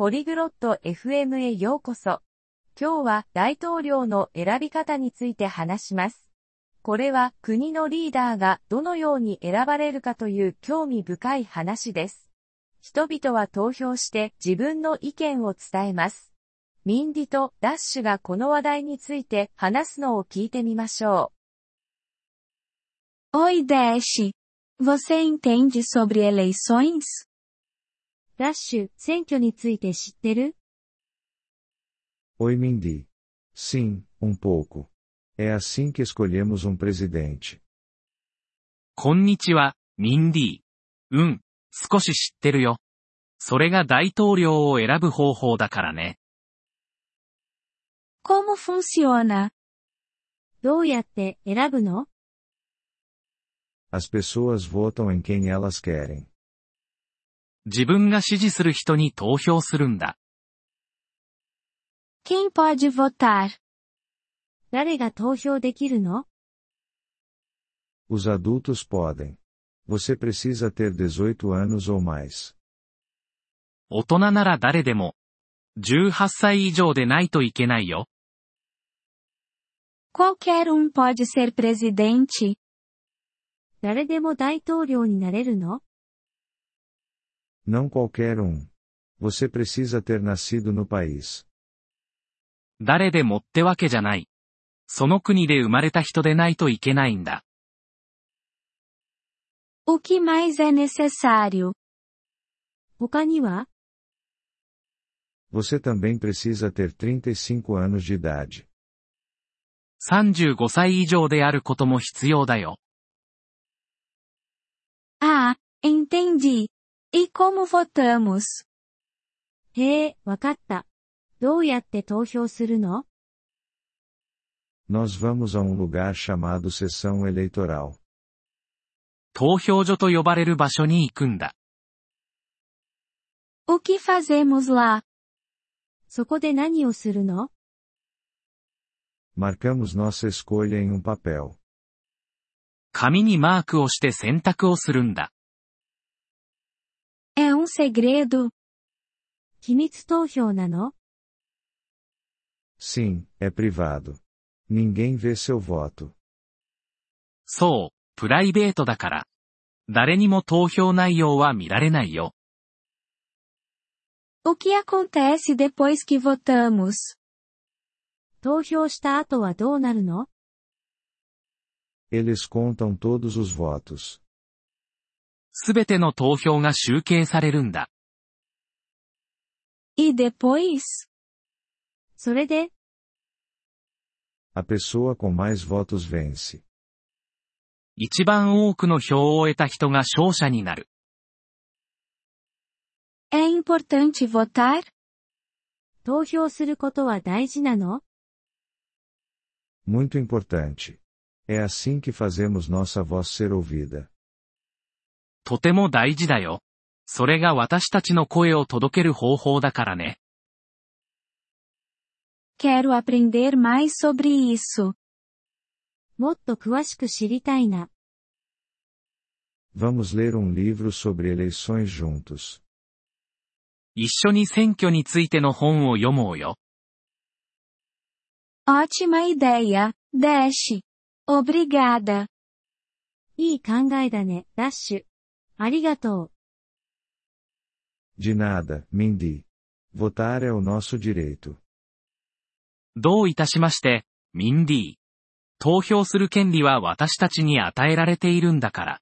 ポリグロット FM へようこそ。今日は大統領の選び方について話します。これは国のリーダーがどのように選ばれるかという興味深い話です。人々は投票して自分の意見を伝えます。ミンディとダッシュがこの話題について話すのを聞いてみましょう。Oi Dash, você entende sobre eleições? ダッシュ、選挙について知ってる？ Oi Mindy. Sim, pouco. É assim que escolhemos presidente. こんにちは、ミンディ。少し知ってるよ。それが大統領を選ぶ方法だからね。 Como funciona? どうやって選ぶの？ As pessoas votam em quem elas querem. 自分が支持する人に投票するんだ。 Quem pode votar? 誰が投票できるの？ Os adultos podem. Você precisa ter 18 anos ou mais. 大人なら誰でも。18歳以上でないといけないよ。 Qualquer pode ser presidente. 誰でも大統領になれるの？ Não qualquer Você precisa ter nascido no país. 誰でもってわけじゃない。その国で生まれた人でないといけないんだ。 O que mais é necessário? 他には？ Você também precisa ter 35 anos de idade. 35歳以上であることも必要だよ。 Ah, entendi. E como votamos? へえ、わかった。どうやって投票するの？ Nós vamos a lugar chamado sessão eleitoral. 投票所と呼ばれる場所に行くんだ。 O que fazemos lá? そこで何をするの？ Marcamos nossa escolha em papel. 紙にマークをして選択をするんだ。 É segredo? 秘密投票なの？ Sim, é privado. Ninguém vê seu voto. そう、プライベートだから。誰にも投票内容は見られないよ。 O que acontece depois que votamos? 投票した後はどうなるの？ Eles contam todos os votos. すべての投票が集計されるんだ。 E depois? それで？ A pessoa com mais votos vence. 一番多くの票を得た人が勝者になる。 É importante votar? 投票することは大事なの？ Muito importante. É assim que fazemos nossa voz ser ouvida. とても大事だよ。それが私たちの声を届ける方法だからね。 Quero aprender mais sobre isso. もっと詳しく知りたいな。 Vamos ler livro sobre eleições juntos. 一緒に選挙についての本を読もうよ。 Ótima ideia, Dash. Obrigada. いい考えだね、ダッシュ。ありがとう。 De nada, Mindy. Votar é o nosso direito. どういたしまして、ミンディ。投票する権利は私たちに与えられているんだから。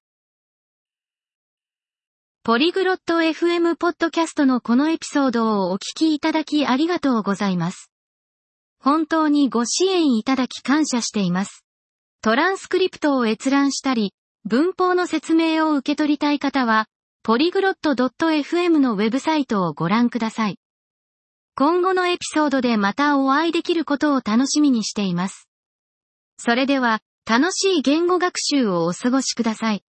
ポリグロット FM ポッドキャストのこのエピソードをお聞きいただきありがとうございます。本当にご支援いただき感謝しています。トランスクリプトを閲覧したり、文法の説明を受け取りたい方は、ポリグロット .fm のウェブサイトをご覧ください。今後のエピソードでまたお会いできることを楽しみにしています。それでは、楽しい言語学習をお過ごしください。